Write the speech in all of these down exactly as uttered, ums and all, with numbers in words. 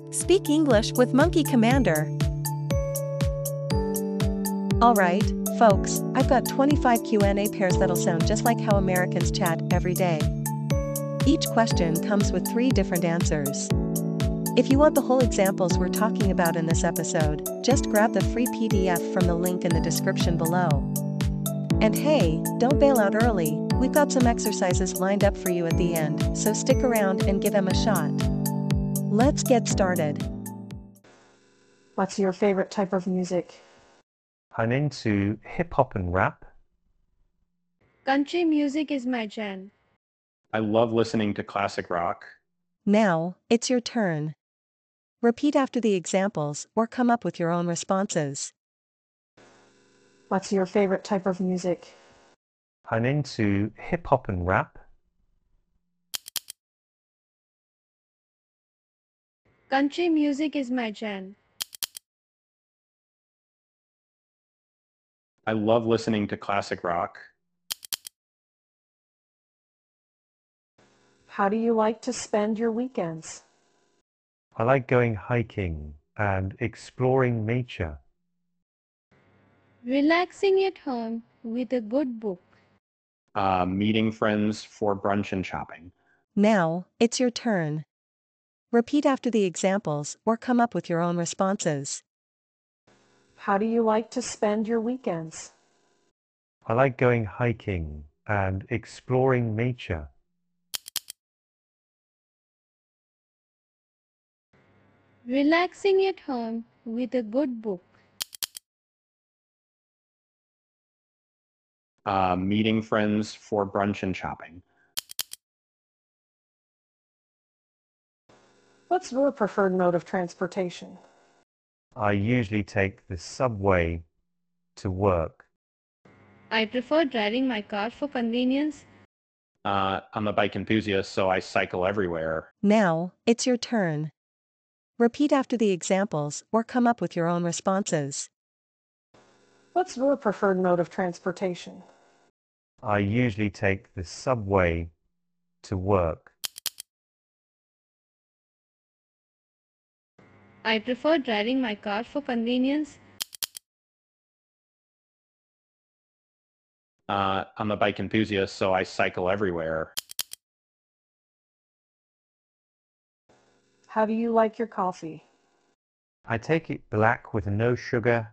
Speak English with Monkey Commander. Alright, folks, I've got twenty-five Q and A pairs that'll sound just like how Americans chat every day. Each question comes with three different answers. If you want the whole examples we're talking about in this episode, just grab the free P D F from the link in the description below. And hey, don't bail out early, we've got some exercises lined up for you at the end, so stick around and give them a shot. Let's get started. What's your favorite type of music? I'm into hip-hop and rap. Country music is my jam. I love listening to classic rock. Now, it's your turn. Repeat after the examples or come up with your own responses. What's your favorite type of music? I'm into hip-hop and rap. Country music is my jam. I love listening to classic rock. How do you like to spend your weekends? I like going hiking and exploring nature. Relaxing at home with a good book. Uh, meeting friends for brunch and shopping. Now, it's your turn. Repeat after the examples or come up with your own responses. How do you like to spend your weekends? I like going hiking and exploring nature. Relaxing at home with a good book. Uh, meeting friends for brunch and shopping. What's your preferred mode of transportation? I usually take the subway to work. I prefer driving my car for convenience. Uh, I'm a bike enthusiast, so I cycle everywhere. Now, it's your turn. Repeat after the examples or come up with your own responses. What's your preferred mode of transportation? I usually take the subway to work. I prefer driving my car for convenience. Uh, I'm a bike enthusiast, so I cycle everywhere. How do you like your coffee? I take it black with no sugar.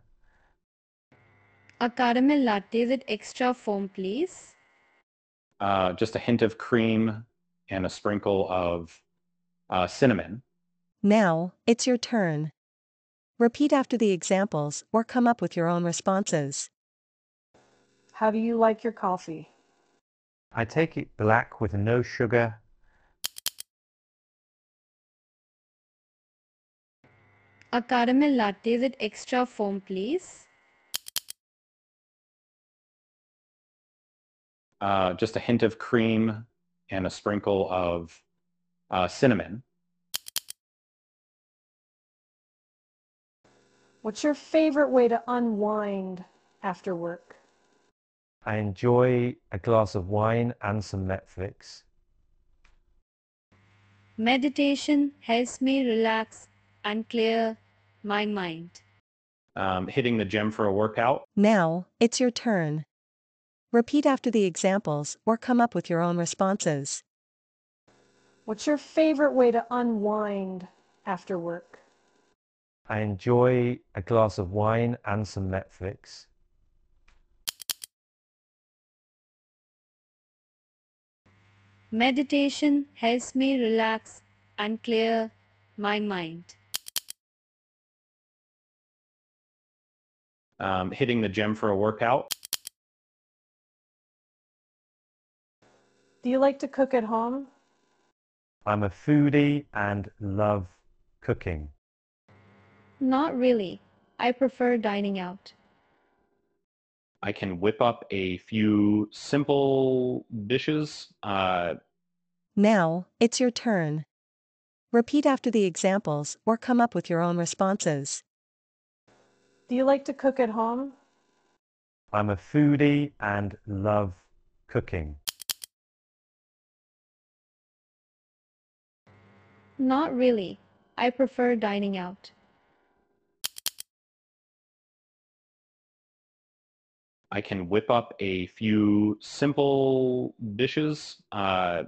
A caramel latte with extra foam, please. Uh, just a hint of cream and a sprinkle of uh, cinnamon. Now, it's your turn. Repeat after the examples or come up with your own responses. How do you like your coffee? I take it black with no sugar. A caramel latte with extra foam, please. Uh, just a hint of cream and a sprinkle of uh, cinnamon. What's your favorite way to unwind after work? I enjoy a glass of wine and some Netflix. Meditation helps me relax and clear my mind. Um, hitting the gym for a workout. Now, it's your turn. Repeat after the examples or come up with your own responses. What's your favorite way to unwind after work? I enjoy a glass of wine and some Netflix. Meditation helps me relax and clear my mind. Um, hitting the gym for a workout. Do you like to cook at home? I'm a foodie and love cooking. Not really. I prefer dining out. I can whip up a few simple dishes. Uh, Now, it's your turn. Repeat after the examples or come up with your own responses. Do you like to cook at home? I'm a foodie and love cooking. Not really. I prefer dining out. I can whip up a few simple dishes. Uh,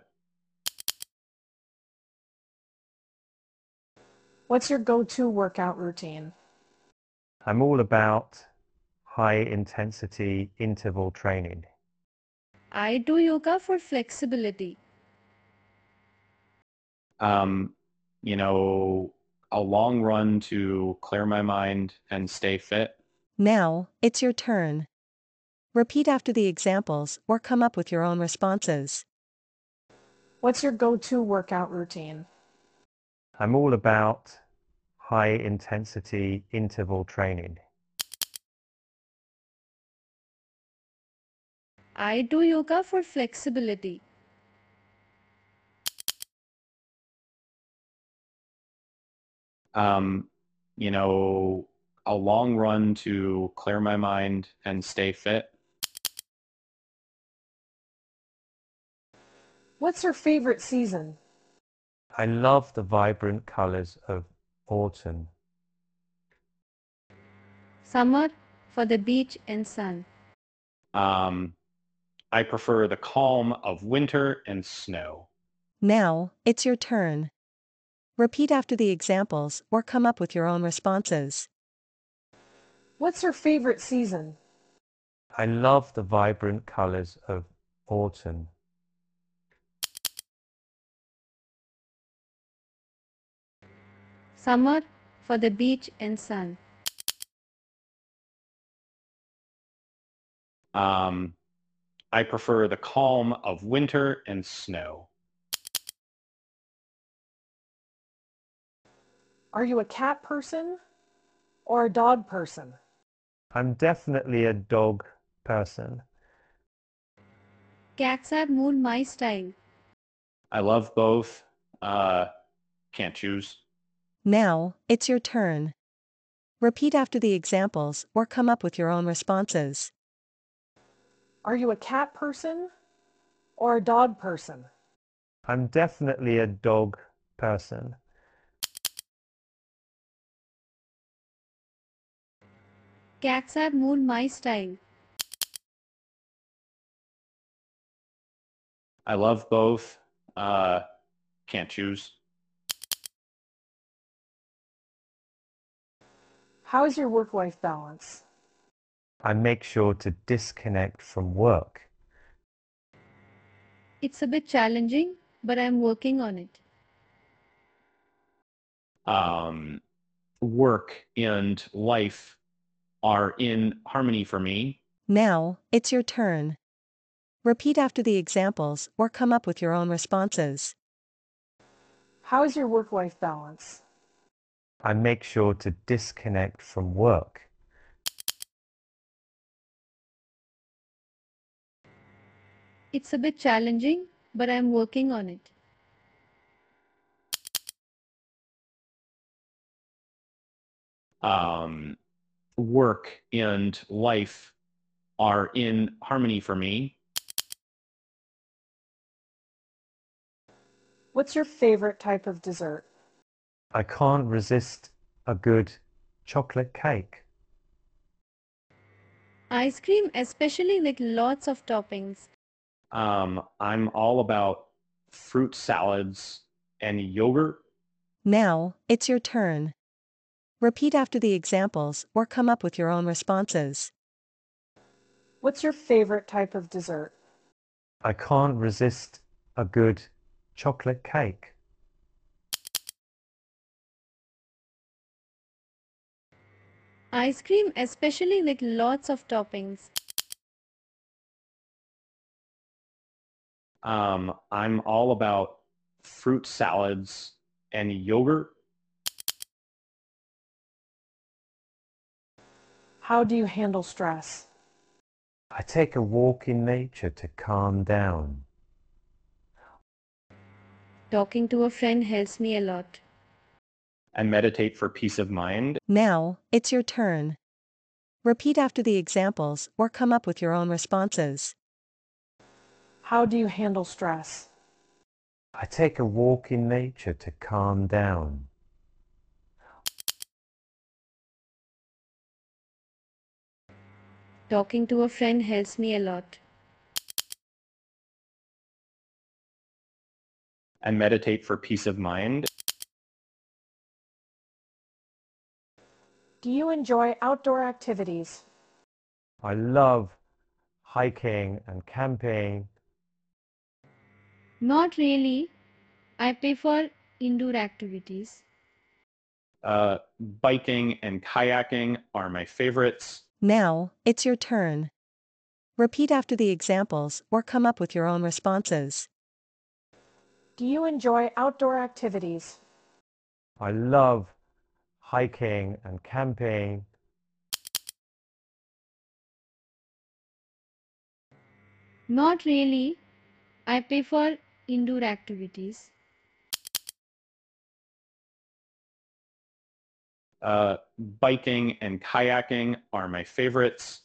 What's your go-to workout routine? I'm all about high intensity interval training. I do yoga for flexibility. um, you know, a long run to clear my mind and stay fit. Now, it's your turn. Repeat after the examples or come up with your own responses. What's your go-to workout routine? I'm all about high intensity interval training. I do yoga for flexibility. Um, you know, a long run to clear my mind and stay fit. What's your favorite season? I love the vibrant colors of autumn. Summer for the beach and sun. Um, I prefer the calm of winter and snow. Now, it's your turn. Repeat after the examples or come up with your own responses. What's your favorite season? I love the vibrant colors of autumn. Summer for the beach and sun. Um, I prefer the calm of winter and snow. Are you a cat person or a dog person? I'm definitely a dog person. Cats are more my style. I love both. Uh, can't choose. Now, it's your turn. Repeat after the examples or come up with your own responses. Are you a cat person or a dog person? I'm definitely a dog person. Cats are more my style. I love both. Uh, can't choose. How is your work-life balance? I make sure to disconnect from work. It's a bit challenging, but I'm working on it. Um, work and life are in harmony for me. Now, it's your turn. Repeat after the examples or come up with your own responses. How is your work-life balance? I make sure to disconnect from work. It's a bit challenging, but I'm working on it. Um, work and life are in harmony for me. What's your favorite type of dessert? I can't resist a good chocolate cake. Ice cream, especially with lots of toppings. Um, I'm all about fruit salads and yogurt. Now, it's your turn. Repeat after the examples or come up with your own responses. What's your favorite type of dessert? I can't resist a good chocolate cake. Ice cream, especially with lots of toppings. Um, I'm all about fruit salads and yogurt. How do you handle stress? I take a walk in nature to calm down. Talking to a friend helps me a lot. And meditate for peace of mind. Now, it's your turn. Repeat after the examples or come up with your own responses. How do you handle stress? I take a walk in nature to calm down. Talking to a friend helps me a lot. And meditate for peace of mind. Do you enjoy outdoor activities? I love hiking and camping. Not really. I prefer indoor activities. Uh, biking and kayaking are my favorites. Now, it's your turn. Repeat after the examples or come up with your own responses. Do you enjoy outdoor activities? I love hiking and camping. Not really. I prefer indoor activities. Uh, biking and kayaking are my favorites.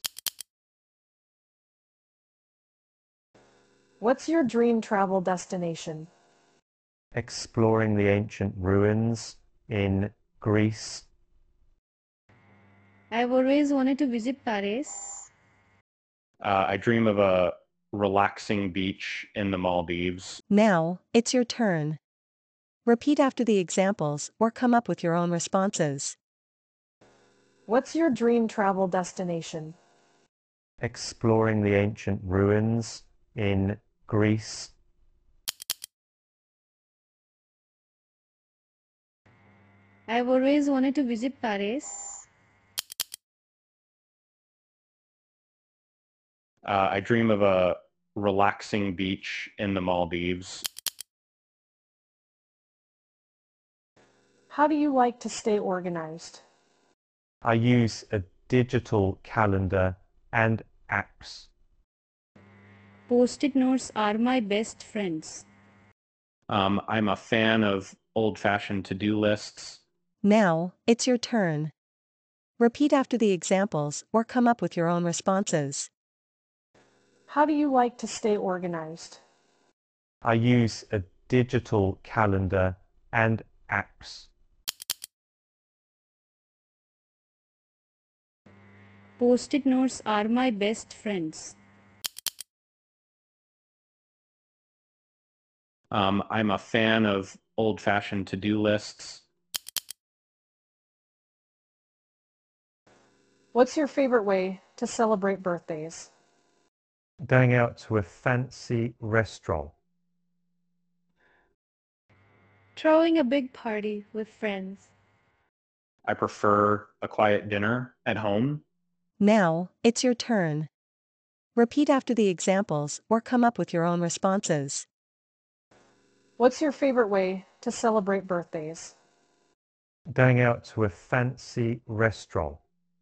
What's your dream travel destination? Exploring the ancient ruins in Greece. I've always wanted to visit Paris. Uh, I dream of a relaxing beach in the Maldives. Now, it's your turn. Repeat after the examples or come up with your own responses. What's your dream travel destination? Exploring the ancient ruins in Greece. I've always wanted to visit Paris. Uh, I dream of a relaxing beach in the Maldives. How do you like to stay organized? I use a digital calendar and apps. Post-it notes are my best friends. Um, I'm a fan of old-fashioned to-do lists. Now, it's your turn. Repeat after the examples or come up with your own responses. How do you like to stay organized? I use a digital calendar and apps. Post-it notes are my best friends. Um, I'm a fan of old-fashioned to-do lists. What's your favorite way to celebrate birthdays? Going out to a fancy restaurant. Throwing a big party with friends. I prefer a quiet dinner at home. Now, it's your turn. Repeat after the examples or come up with your own responses. What's your favorite way to celebrate birthdays? Going out to a fancy restaurant.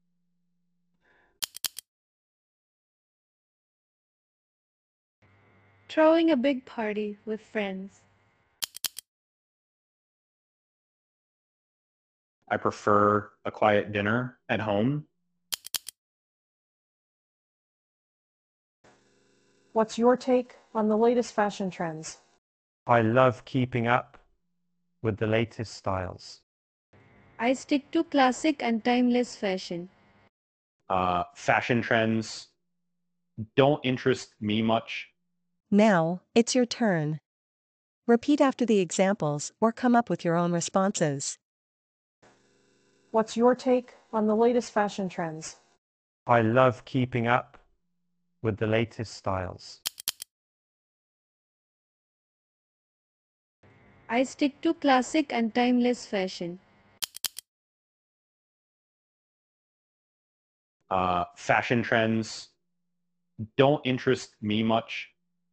Throwing a big party with friends. I prefer a quiet dinner at home. What's your take on the latest fashion trends? I love keeping up with the latest styles. I stick to classic and timeless fashion. Uh, fashion trends don't interest me much. Now, it's your turn. Repeat after the examples or come up with your own responses. What's your take on the latest fashion trends? I love keeping up with the latest styles. I stick to classic and timeless fashion. Uh, fashion trends don't interest me much.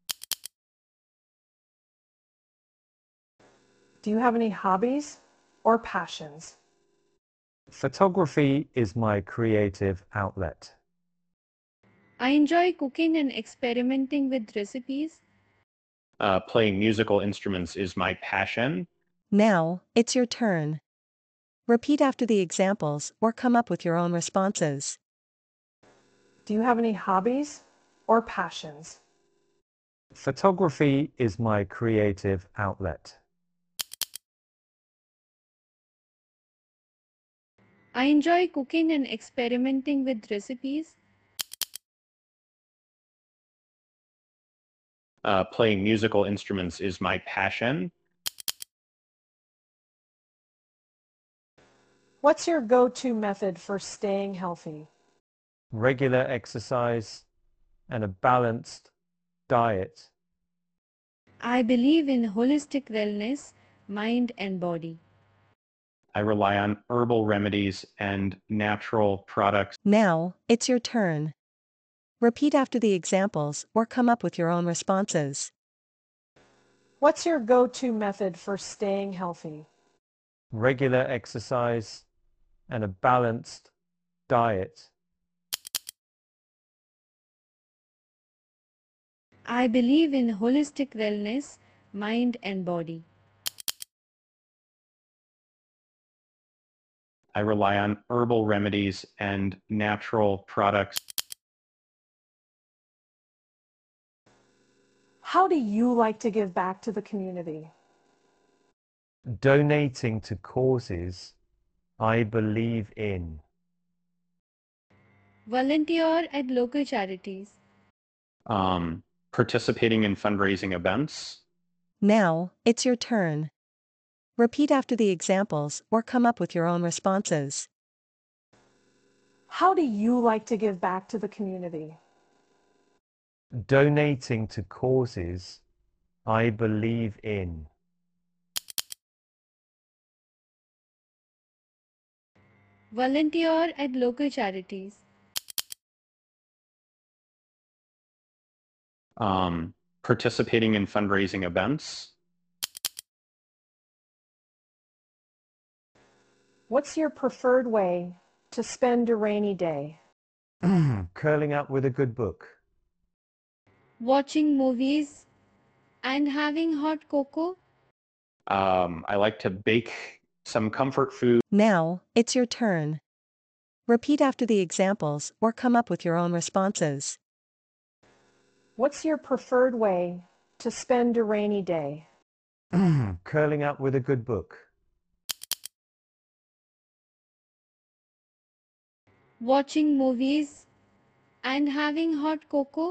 Do you have any hobbies or passions? Photography is my creative outlet. I enjoy cooking and experimenting with recipes. Uh, playing musical instruments is my passion. Now, it's your turn. Repeat after the examples or come up with your own responses. Do you have any hobbies or passions? Photography is my creative outlet. I enjoy cooking and experimenting with recipes. Uh, playing musical instruments is my passion. What's your go-to method for staying healthy? Regular exercise and a balanced diet. I believe in holistic wellness, mind and body. I rely on herbal remedies and natural products. Now, it's your turn. Repeat after the examples or come up with your own responses. What's your go-to method for staying healthy? Regular exercise and a balanced diet. I believe in holistic wellness, mind and body. I rely on herbal remedies and natural products. How do you like to give back to the community? Donating to causes I believe in. Volunteer at local charities. Um, participating in fundraising events. Now, it's your turn. Repeat after the examples or come up with your own responses. How do you like to give back to the community? Donating to causes I believe in. Volunteer at local charities. Um, participating in fundraising events. What's your preferred way to spend a rainy day? Curling up with a good book. Watching movies and having hot cocoa. Um, I like to bake some comfort food. Now, it's your turn. Repeat after the examples or come up with your own responses. What's your preferred way to spend a rainy day? Curling up with a good book. Watching movies and having hot cocoa.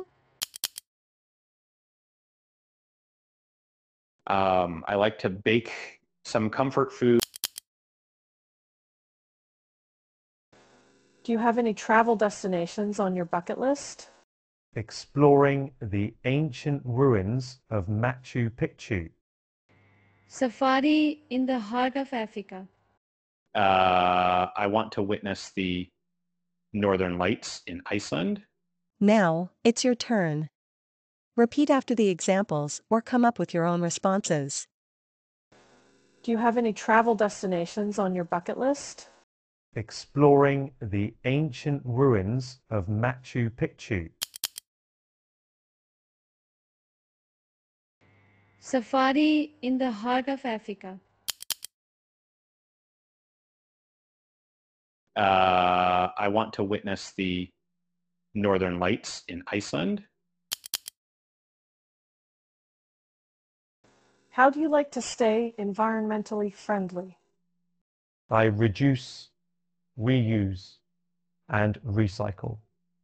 Um, I like to bake some comfort food. Do you have any travel destinations on your bucket list? Exploring the ancient ruins of Machu Picchu. Safari in the heart of Africa. Uh, I want to witness the Northern Lights in Iceland. Now, it's your turn. Repeat after the examples or come up with your own responses. Do you have any travel destinations on your bucket list? Exploring the ancient ruins of Machu Picchu. Safari in the heart of Africa. Uh, I want to witness the Northern Lights in Iceland. How do you like to stay environmentally friendly? I reduce, reuse, and recycle.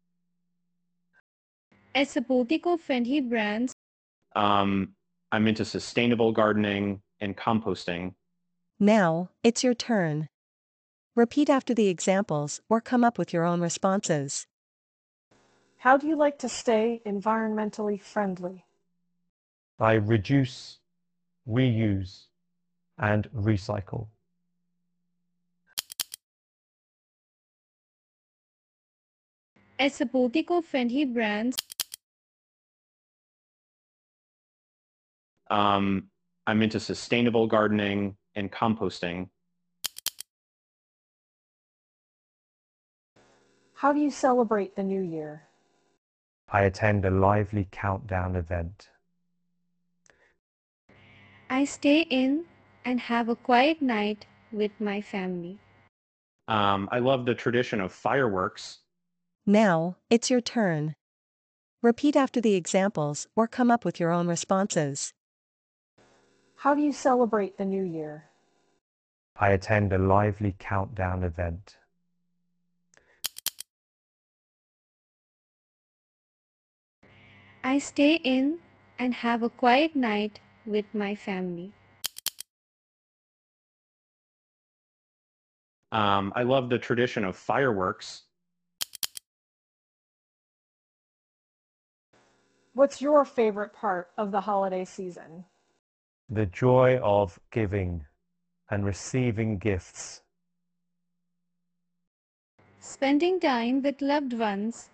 As supporting eco-friendly brands. Um, I'm into sustainable gardening and composting. Now, it's your turn. Repeat after the examples or come up with your own responses. How do you like to stay environmentally friendly? I reduce, reuse, and recycle. As supporting eco-friendly brands. Um, I'm into sustainable gardening and composting. How do you celebrate the new year? I attend a lively countdown event. I stay in and have a quiet night with my family. Um, I love the tradition of fireworks. Now, it's your turn. Repeat after the examples or come up with your own responses. How do you celebrate the new year? I attend a lively countdown event. I stay in and have a quiet night with my family. Um, I love the tradition of fireworks. What's your favorite part of the holiday season? The joy of giving and receiving gifts. Spending time with loved ones.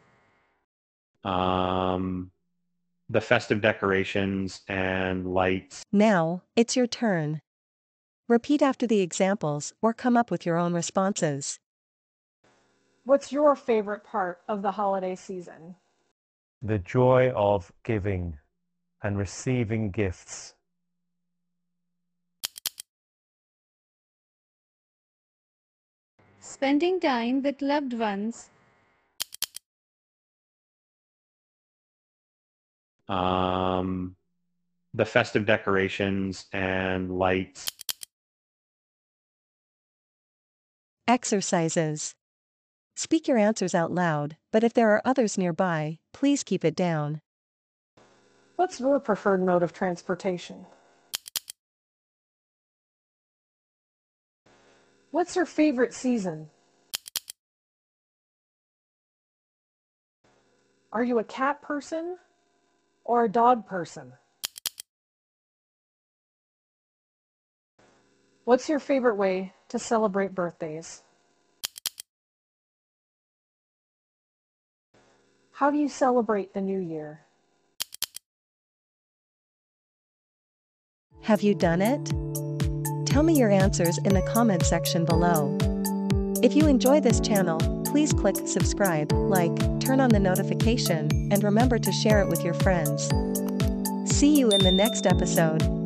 Um, the festive decorations and lights. Now, it's your turn. Repeat after the examples or come up with your own responses. What's your favorite part of the holiday season? The joy of giving and receiving gifts. Spending time with loved ones. Um, the festive decorations and lights. Exercises. Speak your answers out loud, but if there are others nearby, please keep it down. What's your preferred mode of transportation? What's your favorite season? Are you a cat person or a dog person? What's your favorite way to celebrate birthdays? How do you celebrate the new year? Have you done it? Tell me your answers in the comment section below. If you enjoy this channel, please click subscribe, like, turn on the notification, and remember to share it with your friends. See you in the next episode.